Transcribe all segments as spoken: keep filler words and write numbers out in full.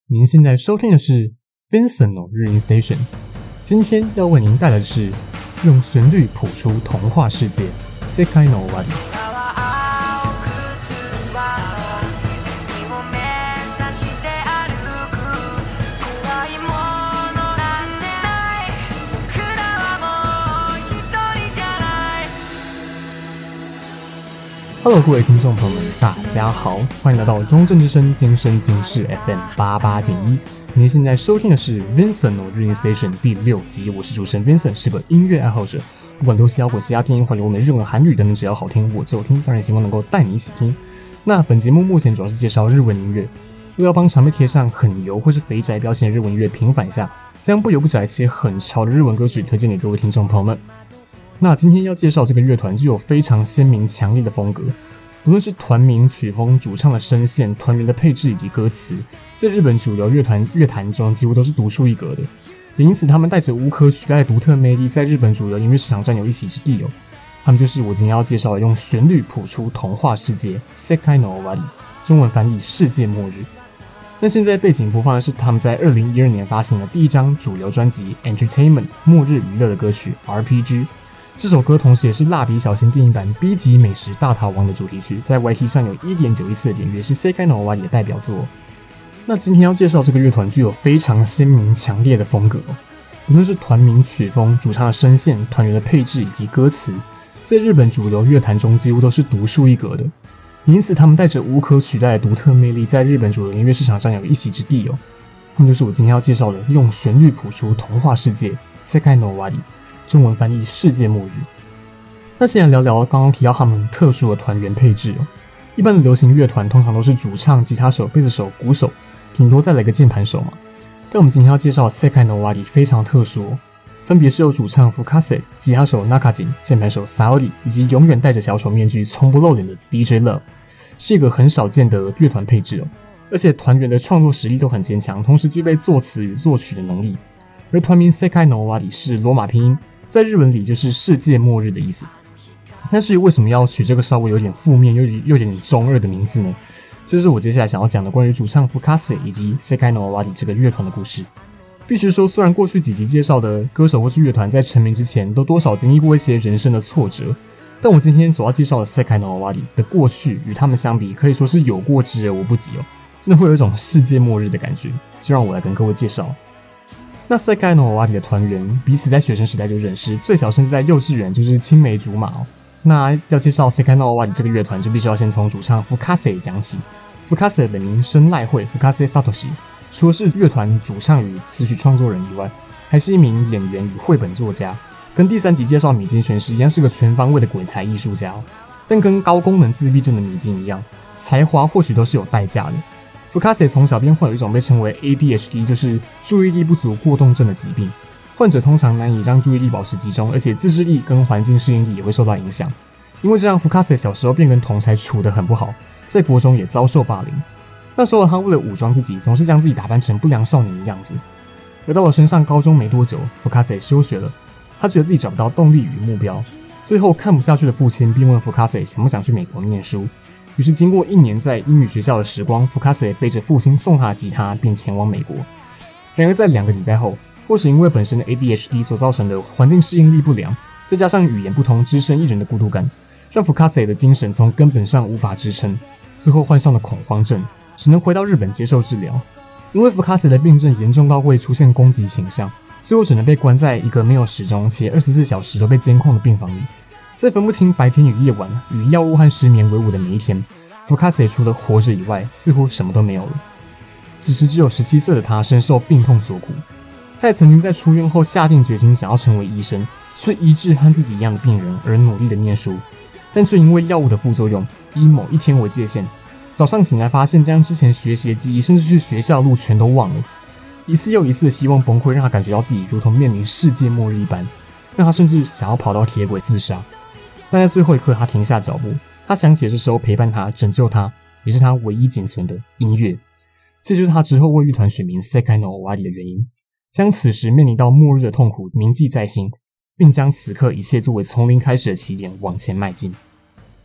您現在收聽的是 Vincent の日音 Station， 今天要為您帶來的是用旋律譜出童話世界世界の終わり。Hello， 各位聽眾朋友們，大家好，歡迎來到中正之聲今生今世 F M 八十八點一。您現在收聽的是 Vincent の日音 Station 第六集，我是主持人 Vincent， 是個音樂愛好者，不管流行搖滾、嘻哈、電音、環流、歐美、日文、韓語等等，只要好聽我就聽，當然希望能夠帶你一起聽。那本節目目前主要是介紹日文音樂，為了要幫常被貼上很油或是肥宅標籤的日文音樂平反一下，將不油不宅且很潮的日文歌曲推薦給各位聽眾朋友們。那今天要介紹這個樂團具有非常鮮明強烈的風格，無論是團名、曲風、主唱的聲線、團員的配置以及歌詞，在日本主流樂團樂壇中幾乎都是獨樹一格的，也因此他們帶着無可取代的獨特魅力，在日本主流音樂市場占有一席之地哦。他們就是我今天要介紹的用旋律譜出童話世界世界の終わり，中文翻譯世界末日。那現在背景播放的是他們在二零一二年發行的第一張主流專輯 Entertainment 末日娛樂的歌曲 R P G。這首歌同時也是蠟筆小新電影版 B 級美食大逃亡的主題曲，在 Y T 上有 一點九億次的點閱，是世界の終わり的代表作。那今天要介紹這個樂團具有非常鮮明強烈的風格哦，無論是團名、曲風、主唱的聲線、團員的配置以及歌詞，在日本主流樂壇中幾乎都是獨樹一格的，因此他們帶着無可取代的獨特魅力，在日本主流音樂市場占有一席之地哦。他們就是我今天要介紹的用旋律譜出童話世界世界の終わり，中文翻譯世界末日。那先來聊聊剛剛提到他們特殊的團員配置哦。一般的流行樂團通常都是主唱、吉他手、貝斯手、鼓手，頂多再來個鍵盤手嘛。但我們今天要介紹的世界の終わり非常特殊哦，分別是由主唱 Fukase、吉他手 Nakajin、鍵盤手 Saori 以及永遠戴着小丑面具、從不露臉的 D J Love， 是一個很少見的樂團配置哦。而且團員的創作實力都很堅強，同時具備作詞與作曲的能力。而團名世界の終わり是羅馬拼音，在日文裡就是世界末日的意思。那至於為什麼要取這個稍微有點負面又有點有點中二的名字呢？這是我接下來想要講的關於主唱 Fukase 以及世界の終わり這個樂團的故事。必須說，雖然過去幾集介紹的歌手或是樂團在成名之前都多少經歷過一些人生的挫折，但我今天所要介紹的世界の終わり的過去與他們相比，可以說是有過之而無不及哦，真的會有一種世界末日的感覺。就讓我來跟各位介紹。那世界の終わり的團員彼此在學生時代就認識，最小甚至在幼稚園就是青梅竹馬哦。那要介紹世界の終わり這個樂團，就必須要先從主唱 Fukase 講起。Fukase 本名深瀨繪 Fukase Satoshi， 除了是樂團主唱與詞曲創作人以外，還是一名演員與繪本作家，跟第三集介紹米津玄師一樣，是個全方位的鬼才藝術家哦。但跟高功能自閉症的米津一樣，才華或許都是有代價的。Fukase 從小便患有一種被稱為 A D H D， 就是注意力不足過動症的疾病。患者通常難以讓注意力保持集中，而且自制力跟環境適應力也會受到影響。因為這樣 ，Fukase 小時候便跟同儕處得很不好，在國中也遭受霸凌。那時候他為了武裝自己，總是將自己打扮成不良少年的樣子。而到了升上高中沒多久 ，Fukase 休學了，他覺得自己找不到動力與目標。最後看不下去的父親便問 Fukase 想不想去美國念書。於是經過一年在英語學校的時光 ，Fukase 背着父親送他的吉他，便前往美國。然而在兩個禮拜後，或是因為本身的 A D H D 所造成的環境適應力不良，再加上語言不通、只身一人的孤獨感，讓 Fukase 的精神從根本上無法支撐，最後患上了恐慌症，只能回到日本接受治療。因為 Fukase 的病症嚴重到會出現攻擊傾向，最後只能被關在一個沒有時鐘且二十四小時都被監控的病房裡。在分不清白天與夜晚、與藥物和失眠為伍的每一天， Fukase 除了活着以外，似乎什麼都沒有了。此時只有十七歲的他深受病痛所苦。他也曾經在出院後下定決心想要成為醫生，去醫治和自己一樣的病人，而努力的念書，但卻因為藥物的副作用，以某一天為界限，早上醒來發現將之前學習的記憶，甚至去學校的路全都忘了。一次又一次的希望崩潰，讓他感覺到自己如同面臨世界末日一般，讓他甚至想要跑到鐵軌自殺。但在最後一刻，他停下腳步，他想起這時候陪伴他、拯救他，也是他唯一僅存的音樂。這就是他之後為樂團取名世界の終わり的原因。將此時面臨到末日的痛苦銘記在心，並將此刻一切作為從零開始的起點往前邁進。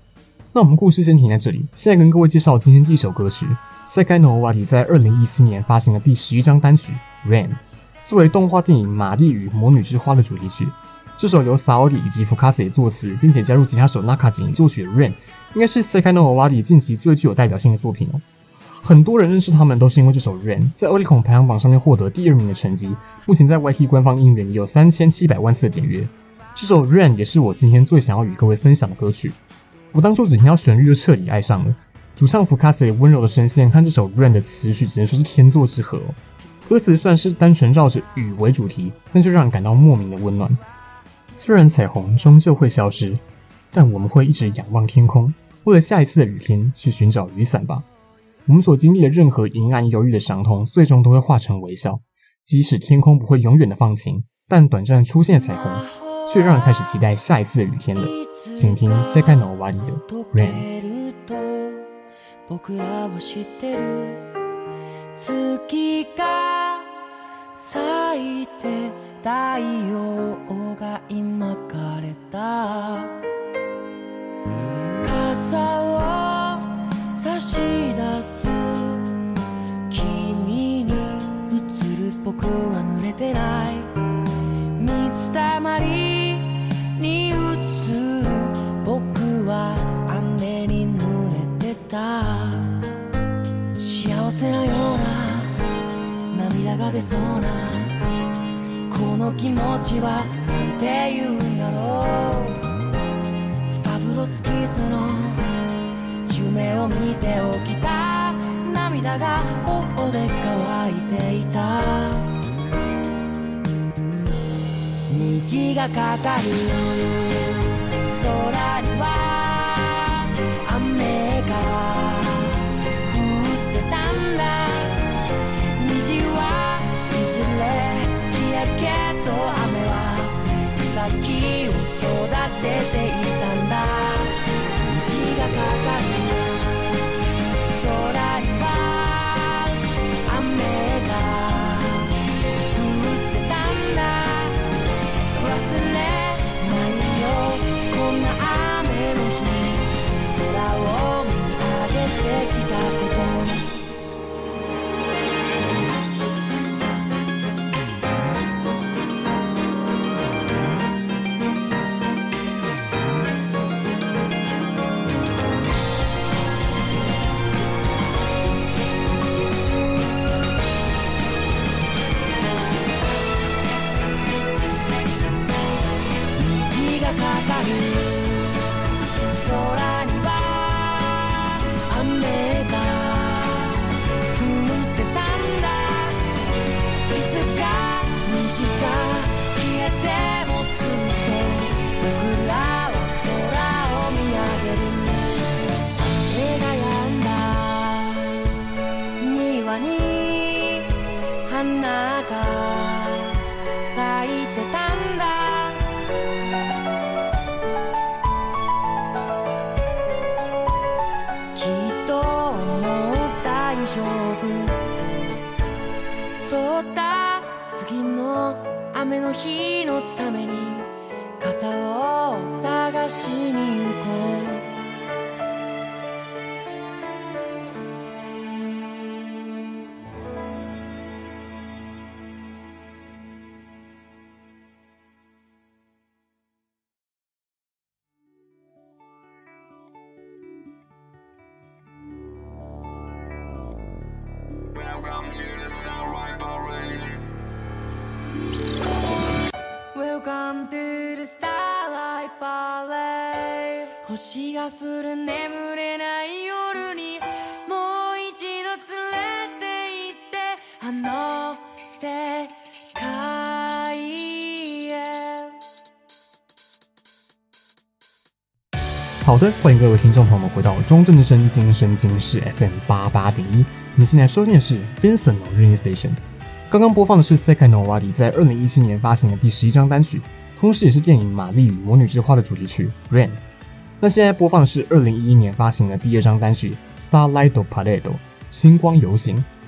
那我們故事先停在這裡，現在跟各位介紹今天第一首歌曲。Sekai no Owari在二零一四年發行的第十一張單曲《Rain》，作為動畫電影《瑪麗與魔女之花》的主題曲。這首由 Saori 以及 Fukase 作詞，並且加入吉他手 Nakaji 作曲的《Rain》，應該是 Sekai no Owari 近期最具有代表性的作品哦。很多人認識他們都是因為這首《Rain》在 Oricon 排行榜上面獲得第二名的成績，目前在 Y T 官方音源也有三千七百萬次的點閱。這首《Rain》也是我今天最想要與各位分享的歌曲。我當初只聽到旋律就徹底愛上了，主唱 Fukase 溫柔的聲線和這首《Rain》的詞曲只能說是天作之合哦。歌詞算是單純繞着雨為主題，但就讓人感到莫名的溫暖。雖然彩虹終究會消失，但我們會一直仰望天空，為了下一次的雨天去尋找雨傘吧。我們所經歷的任何陰暗憂鬱的傷痛，最終都會化成微笑。即使天空不會永遠的放晴，但短暫出現的彩虹，卻讓人開始期待下一次的雨天了。請聽 Sekai no Owari 的 Rain。僕らは知ってる月が咲いて太陽が今枯れた傘を差し出す君に映る僕は濡れてない水たまりに映る僕は雨に濡れてた幸せなような涙が出そうなこの気持ちはなんて言うんだろうファブロスキスの夢を見て起きた涙が頬で乾いていた虹がかかる空には雨が降ってたんだ虹はいずれ消えるけど雨は草木を育てていたんだ虹がかかる空には雨が降ってたんだ忘れないよこんな雨の日空を見上げてきたことかかる空には雨が降ってたんだいつか虹が消えてもずっと僕らは空を見上げる雨が止んだ庭に花が咲いてたんだそうだ次の雨の日のために傘を探しに行こうWelcome to the Starlight Parade. Welcome to the Starlight Parade. 星が降る眠れない夜にもう一度連れて行ってあの世界へ。好的，歡迎各位聽眾朋友們回到中正之聲今生今世 F M 八八點一。你現在收聽的是 Vincent の Rain Station。剛剛播放的是 Sekai no Owari 在二零一七年發行的第十一張單曲，同時也是電影《瑪麗與魔女之花》的主題曲 Rain。那現在播放的是二零一一年發行的第二張單曲 Starlight Parade 星光遊行。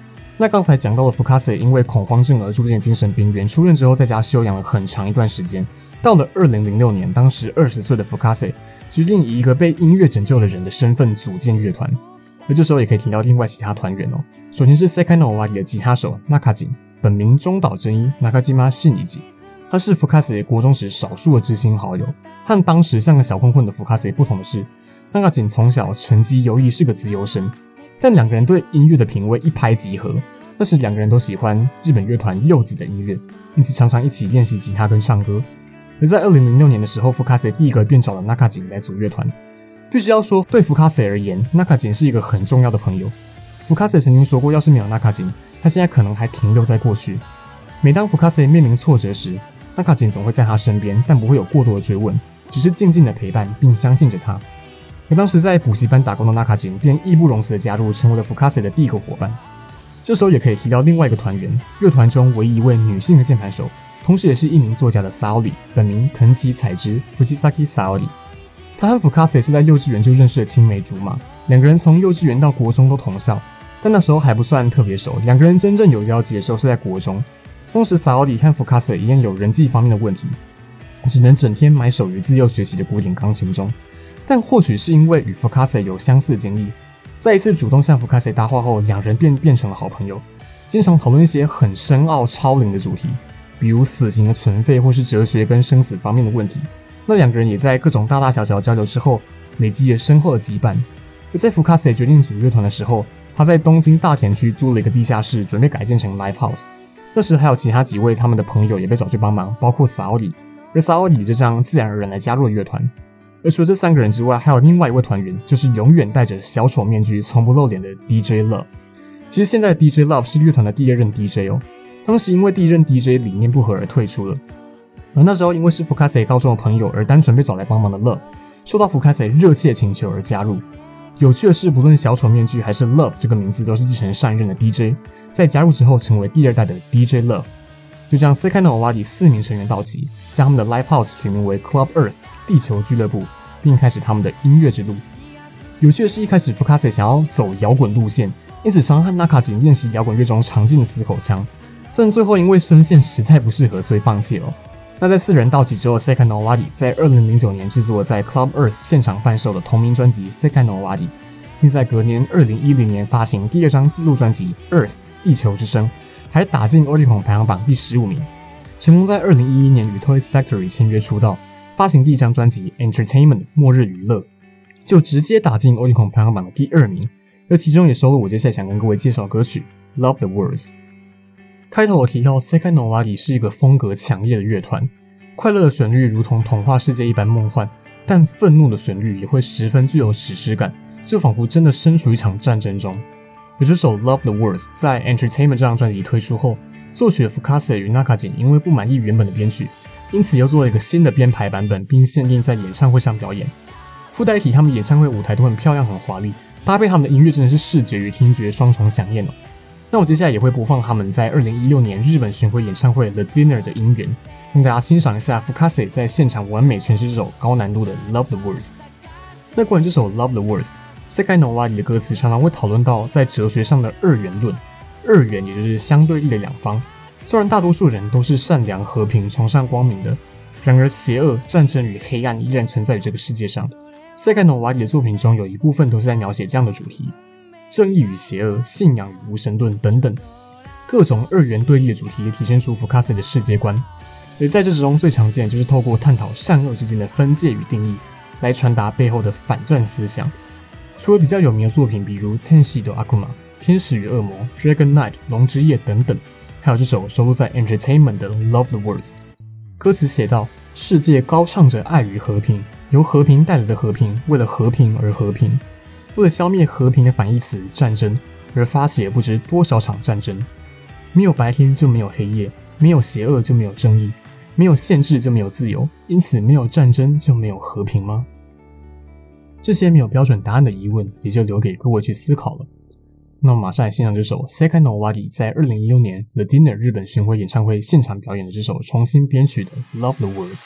那剛才講到的 Fukase 因為恐慌症而住進精神病院，出院之後在家休養了很長一段時間。到了二零零六年，當時二十歲的 Fukase 決定以一個被音樂拯救的人的身份組建樂團。而這時候也可以提到另外其他團員哦。首先是 Sekai no Owari 的吉他手 Nakajin， 本名中島真一 Nakajima Shinichi， 他是 Fukase 國中時少數的知心好友。和當時像個小混混的 Fukase 不同的是， Nakajin 從小成績優異，是個資優生。但兩個人對音樂的品味一拍即合，那時兩個人都喜歡日本樂團柚子的音樂，因此常常一起練習吉他跟唱歌。而在二零零六年的時候 ，Fukase 第一個便找了 Nakajin 來組樂團。必須要說，對 Fukase 而言 ，Nakajin 是一個很重要的朋友。Fukase 曾經說過，要是沒有 Nakajin， 他現在可能還停留在過去。每當 Fukase 面臨挫折時 ，Nakajin 總會在他身邊，但不會有過多的追問，只是靜靜的陪伴並相信着他。而當時在補習班打工的 Nakajin 便義不容辭的加入，成為了 Fukase 的第一個夥伴。這時候也可以提到另外一個團員，樂團中唯一一位女性的鍵盤手，同時也是一名作家的 Saori， 本名藤崎彩之 Fujisaki Saori。她和 Fukase 是在幼稚園就認識的青梅竹馬，兩個人從幼稚園到國中都同校，但那時候還不算特別熟。兩個人真正有交集的時候是在國中，當時 Saori 和 Fukase 一樣有人際方面的問題，只能整天埋首於自幼學習的古典鋼琴中。但或許是因為與 Fukase 有相似經歷，在一次主動向 Fukase 搭話後，兩人便變成了好朋友，經常討論一些很深奧超齡的主題，比如死刑的存廢或是哲學跟生死方面的問題。那兩個人也在各種大大小小交流之後，累積了深厚的羈絆。而在 Fukase 決定組樂團的時候，他在東京大田區租了一個地下室，準備改建成 Live House。那時還有其他幾位他們的朋友也被找去幫忙，包括 Saori， 而 Saori 就這樣自然而然來加入了樂團。而除了這三個人之外，還有另外一位團員，就是永遠戴着小丑面具、從不露臉的 D J Love。其實現在的 D J Love 是樂團的第二任 D J 哦，當時因為第一任 D J 理念不合而退出了。而那時候因為是 Fukase 高中的朋友而單純被找來幫忙的 Love， 受到 Fukase 熱切請求而加入。有趣的是，不論小丑面具還是 Love 這個名字，都是繼承上一任的 D J， 在加入之後成為第二代的 D J Love。就這樣 Sekai no Owari 四名成員到齊，將他們的 Live House 取名為 Club Earth 地球俱樂部，並開始他們的音樂之路。有趣的是，一開始 Fukase 想要走搖滾路線，因此常和 Nakajin 練習搖滾樂中常見的死口腔，但最後因為聲線實在不適合，所以放棄了。那在四人到齊之後 ，Sekai no Owari 在二零零九年制作在 Club Earth 現場販售的同名專輯 Sekai no Owari， 並在隔年二零一零年發行第二張自錄專輯 Earth 地球之聲，還打進 Oricon 排行榜第十五名，成功在二零一一年與 Toys Factory 簽約出道，發行第一張專輯 Entertainment 末日娛樂，就直接打進 Oricon 排行榜的第二名，而其中也收錄我接下來想跟各位介紹的歌曲 Love the Words。開頭我提到 Sekai no Owari 是一個風格強烈的樂團，快樂的旋律如同童話世界一般夢幻，但憤怒的旋律也會十分具有史詩感，就仿佛真的身處一場戰爭中。而這首 Love the Words 在 Entertainment 這張專輯推出後，作曲的 Fukase 與 Nakajin 因為不滿意原本的編曲，因此又做了一個新的編排版本，並限定在演唱會上表演。附帶一提，他們演唱會舞台都很漂亮很華麗，搭配他們的音樂真的是視覺與聽覺雙重饗宴哦。那我接下來也會播放他們在二零一六年日本巡迴演唱會 The Dinner 的音源，讓大家欣賞一下 Fukase 在現場完美詮釋這首高難度的 Love the Words。那關於這首 Love the Words， Sekai no Owari 的歌詞常常會討論到在哲學上的二元論，二元也就是相對立的兩方。雖然大多數人都是善良、和平、崇尚光明的，然而邪惡、戰爭與黑暗依然存在於這個世界上。Sekai no Owari 的作品中有一部分都是在描寫這樣的主題。正義與邪惡、信仰與無神論等等，各種二元對立的主題體現出 Fukase 的世界觀。而在這之中最常見的就是透過探討善惡之間的分界與定義，來傳達背後的反戰思想。除了比較有名的作品，比如《天使と悪魔》、《天使與惡魔》、《Dragon Knight》、《龍之夜》等等，還有這首收錄在 Entertainment 的 Love the Words。歌詞寫道：世界高唱着愛與和平，由和平帶來的和平，為了和平而和平。為了消滅和平的反義詞戰爭，而發起了不知多少場戰爭。沒有白天就沒有黑夜，沒有邪惡就沒有正義，沒有限制就沒有自由，因此沒有戰爭就沒有和平嗎？這些沒有標準答案的疑問，也就留給各位去思考了。那麼馬上來欣賞這首 Sekai no Owari 在二零一六年 The Dinner 日本巡迴演唱會現場表演的這首重新編曲的 Love the Words。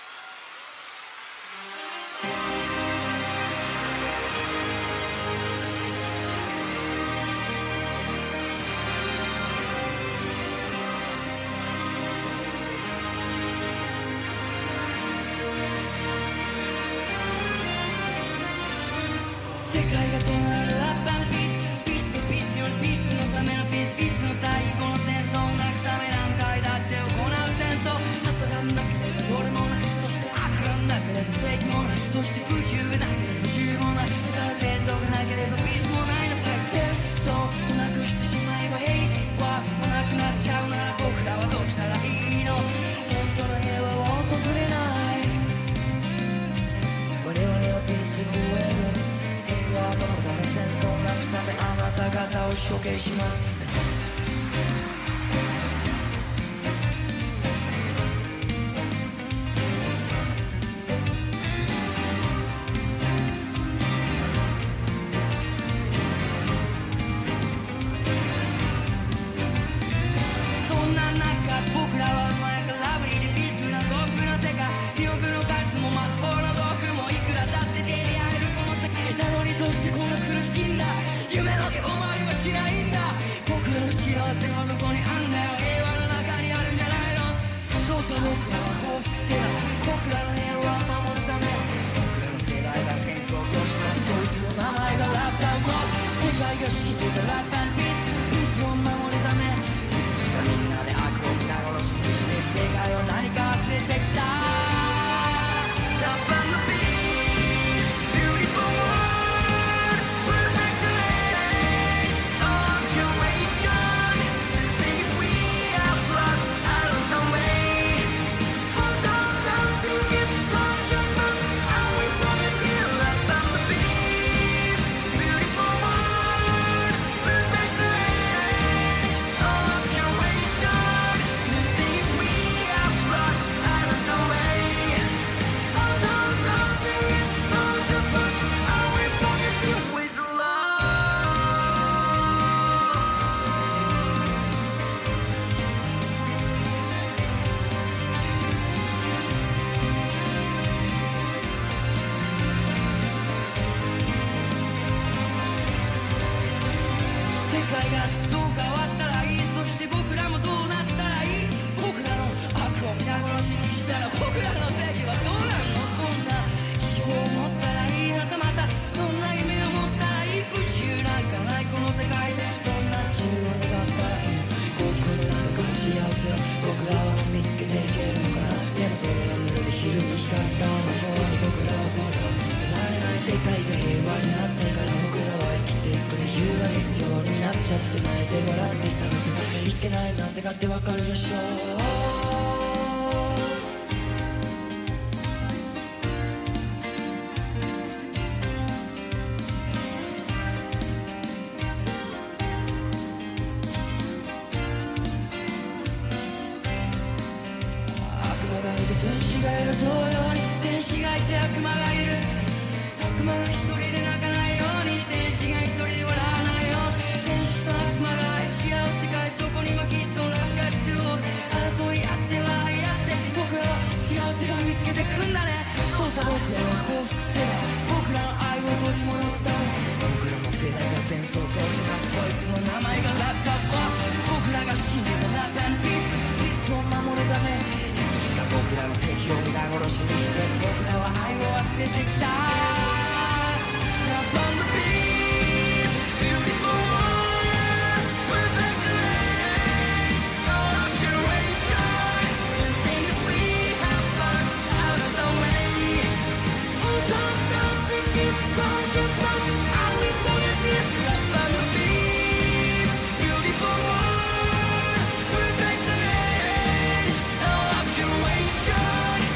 なんて勝手わかるでしょう天使がいる同様に天使がいて悪魔がいる悪魔が一人で泣かないように天使が一人で笑わないよ天使と悪魔が愛し合う世界そこにはきっとラブが必要争い合って笑い合って僕らは幸せが見つけてくんだねそうさ僕らは幸福世代僕らの愛を取り戻すため僕らの世代が戦争としますそいつの名前がラブザワー僕らが信じたラブ&ピースピースを守るため僕らの敵を皆殺しにして僕らは愛を忘れてきた Love on the beat Beautiful world Perfect land All of generation The things we have lost out of the way All time something is conscious of how we wanted it Love on the beat Beautiful world Perfect land All of generation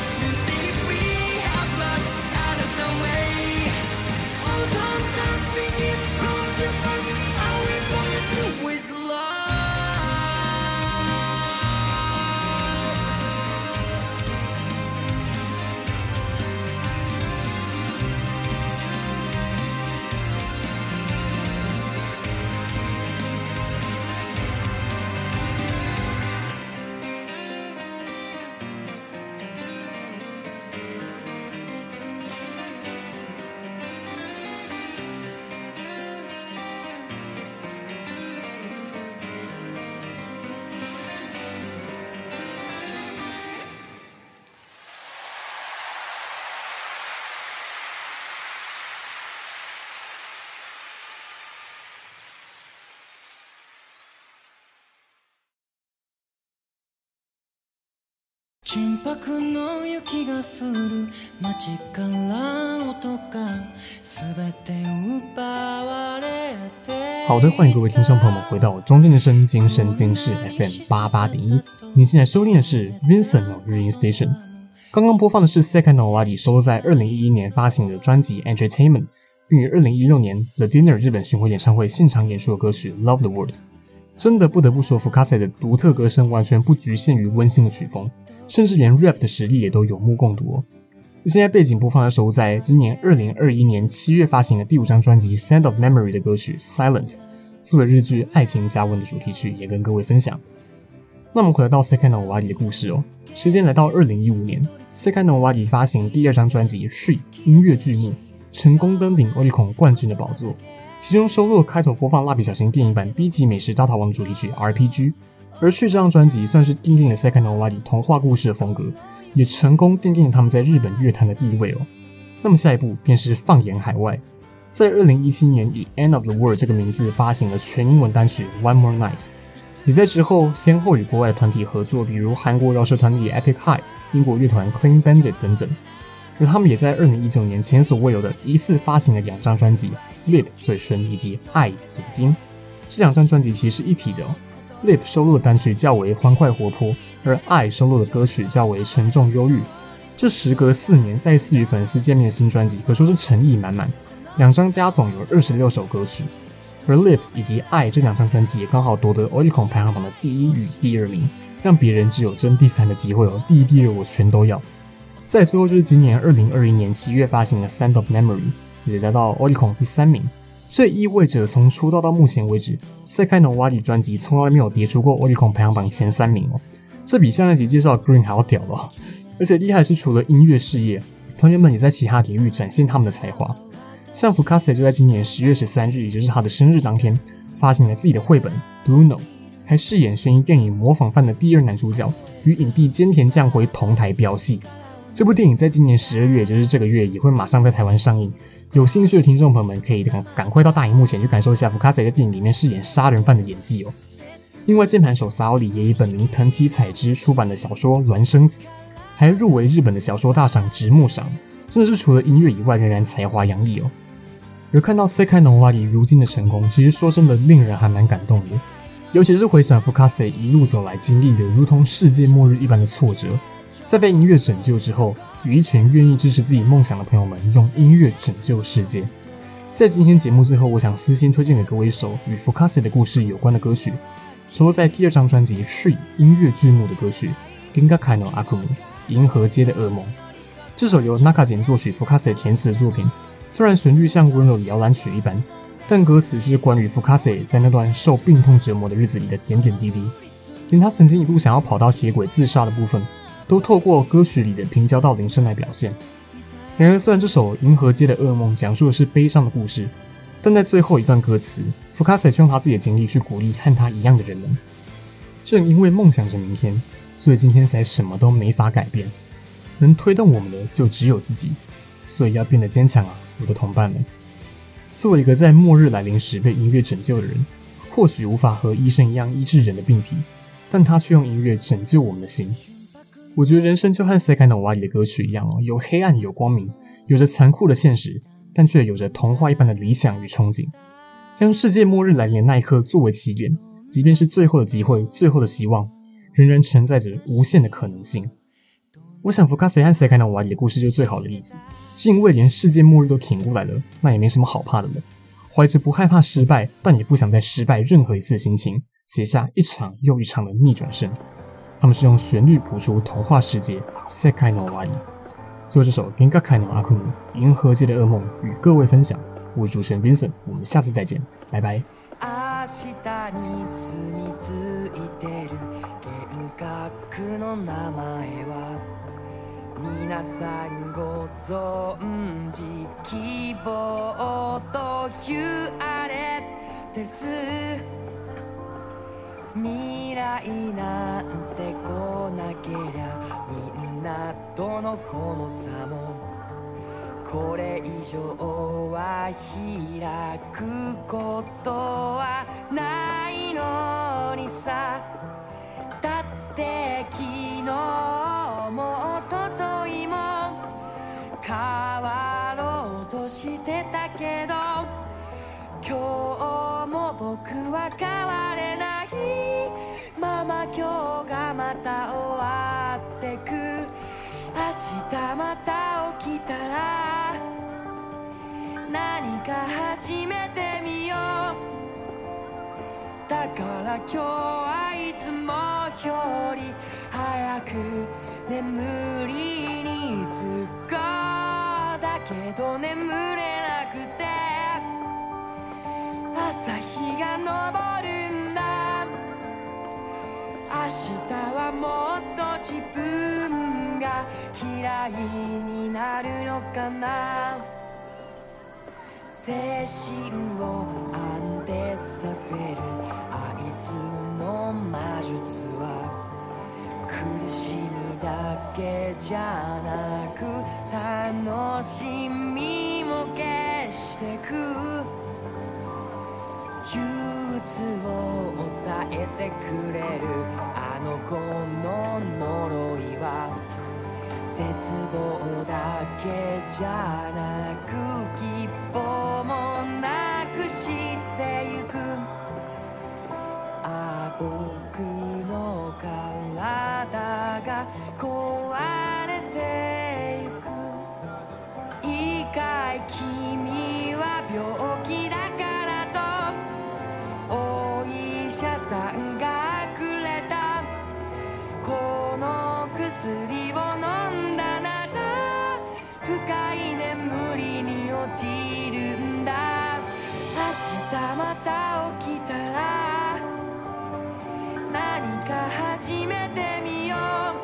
純白の雪が降る街から音が全て奪われて。 好的，歡迎各位聽眾朋友們回到中正之聲今生今世 F M 八八點一。您現在收聽的是 Vincent の日音 Station。剛剛播放的是 Sekai Nowari 收錄在二零一一年發行的專輯 Entertainment， 並於二零一六年 The Dinner 日本巡迴演唱會現場演出的歌曲 Love the Words。真的不得不說，Fukase的獨特歌聲完全不局限於溫馨的曲風，甚至連 rap 的實力也都有目共睹哦。現在背景播放的收錄在今年二零二一年七月發行的第五張專輯 Sound of Memory 的歌曲 Silent， 作為日劇《愛情加溫》的主題曲，也跟各位分享。那我們回到 Sekai Nowari 的故事哦，時間來到二零一五年 ，Sekai Nowari 發行第二張專輯 Shri 音樂劇目，成功登頂 Oricon 冠軍的寶座。其中收錄開頭播放蠟筆小新電影版 B 級美食大逃亡的主題曲 R P G， 而去這張專輯算是奠定了 Sekai Nowari 童話故事的風格，也成功奠定了他們在日本樂壇的地位哦。那麼下一步便是放眼海外，在二零一七年以 End of the World 這個名字發行了全英文單曲 One More Night， 也在之後先後與國外的團體合作，比如韓國饒舌團體 Epic High、英國樂團 Clean Bandit 等等。而他們也在二零一九年前所未有的一次發行了兩張專輯 Lip 嘴唇以及愛眼睛，這兩張專輯其實是一體的哦。Lip 收錄的單曲較為歡快活潑，而愛收錄的歌曲較為沉重憂鬱。這時隔四年再次與粉絲見面的新專輯可說是誠意滿滿，兩張加總有二十六首歌曲，而 Lip 以及愛這兩張專輯也剛好奪得 Oricon 排行榜的第一與第二名，讓別人只有爭第三的機會哦，第一、第二我全都要。再最後就是今年二零二一年七月發行的 Sound of Memory， 也來到 Oricon 第三名。這意味着從出道到目前為止 Sekai Nowari 專輯從來沒有跌出過 Oricon 排行榜前三名哦，這比上一集介紹的 Green 還要屌哦。而且厲害的是，除了音樂事業，團員們也在其他領域展現他們的才華。像 Fukase 就在今年十月十三日，也就是他的生日當天，發行了自己的繪本 Blue Note， 還飾演懸疑電影《模仿犯》的第二男主角，與影帝菅田將暉同台飆戲。這部電影在今年十二月，也就是這個月，也會馬上在台灣上映。有興趣的聽眾朋友們可以趕趕快到大熒幕前去感受一下 Fukase 在電影裡面飾演殺人犯的演技哦。另外，鍵盤手 Saori 也以本名藤崎彩之出版的小說《孿生子》，還入圍日本的小說大賞直木賞，真的是除了音樂以外，仍然才華洋溢哦。而看到 Sekai Nowari 如今的成功，其實說真的令人還蠻感動的。 尤其是回想福卡塞一路走來經歷的如同世界末日一般的挫折，在被音樂拯救之後，與一群願意支持自己夢想的朋友們用音樂拯救世界。在今天節目最後，我想私心推薦給各位一首與福卡塞的故事有關的歌曲，收錄在第二張專輯《Tree》音樂劇目的歌曲《Gengakai no Akumu》銀河街的噩夢。這首由 Nakajin 作曲、福卡塞填詞的作品，雖然旋律像溫柔的搖籃曲一般，但歌詞是關於福卡塞在那段受病痛折磨的日子裡的點點滴滴，連他曾經一度想要跑到鐵軌自殺的部分，都透過歌曲裡的平交道鈴聲來表現。然而，雖然這首《銀河街的噩夢》講述的是悲傷的故事，但在最後一段歌詞，福卡塞卻用他自己的經歷去鼓勵和他一樣的人們。正因為夢想着明天，所以今天才什麼都沒法改變。能推動我們的就只有自己，所以要變得堅強啊，我的同伴們。作為一個在末日來臨時被音樂拯救的人，或許無法和醫生一樣醫治人的病體，但他卻用音樂拯救我們的心。我覺得人生就和 Sekai no Owari 的歌曲一樣哦，有黑暗有光明，有着殘酷的現實，但卻有着童話一般的理想與憧憬。將世界末日來臨的那一刻作為起點，即便是最後的機會，最後的希望，仍然承載着無限的可能性。我想福卡塞和 Sekai no Owari 的故事就是最好的例子，是因為連世界末日都挺過來了，那也沒什麼好怕的了。懷着不害怕失敗，但也不想再失敗任何一次的心情，寫下一場又一場的逆轉勝。他們是用旋律譜出童話世界 Sekai no Owari。最後這首 Gengakai no Akumu 銀河街的噩夢與各位分享，我是主持人 Vincent， 我們下次再見，拜拜。 皆さんご存知希望というあれです未来なんて来なけりゃみんなとのこの差もこれ以上は開くことはないのにさだって昨日も一昨日も変わろうとしてたけど今日も僕は変われないまま今日がまた終わってく明日また起きたら何か始めてみようだから今日はいつもより早く眠りにつこうだけど眠れなくて朝日が昇るんだ明日はもっと自分が嫌いになるのかな精神を安定させるあいつの魔術は苦しみだけじゃなく楽しみも消してく憂鬱を抑えてくれるあの子の呪いは絶望だけじゃなく希望もなくしてゆくああ僕の体が壊れてゆく意外君は病気だからとお医者さんがくれたこの薬を飲んだなら深い眠りに落ちるんだ明日また起きたら何か始めてみよ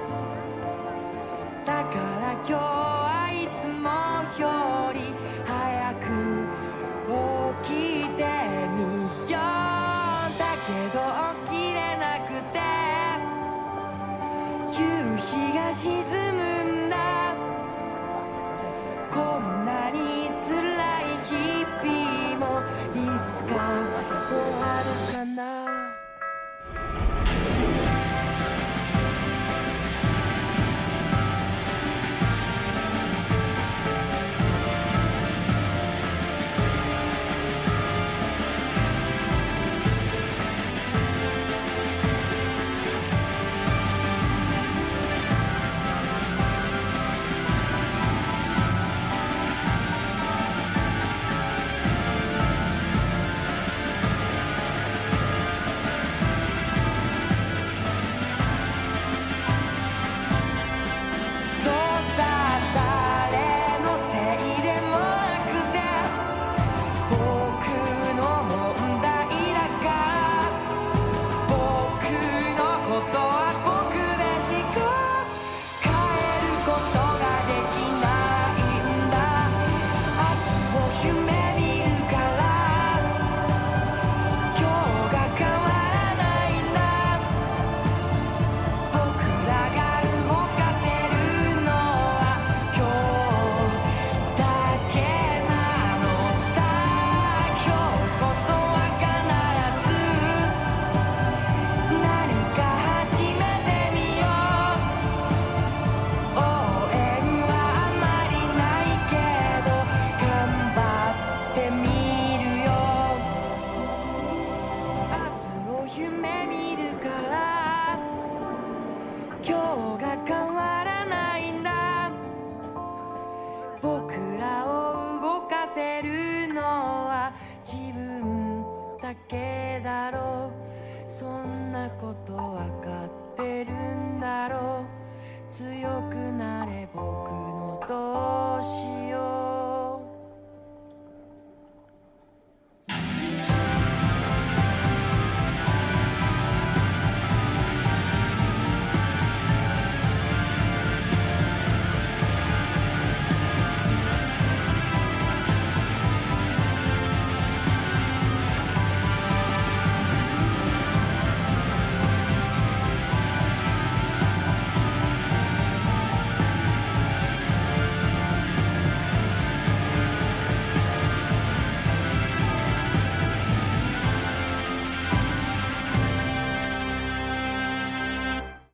うだから今日はいつもより早く起きてみようだけど起きれなくて夕日が沈むんだこんなに辛い日々もいつか終わるかななことわ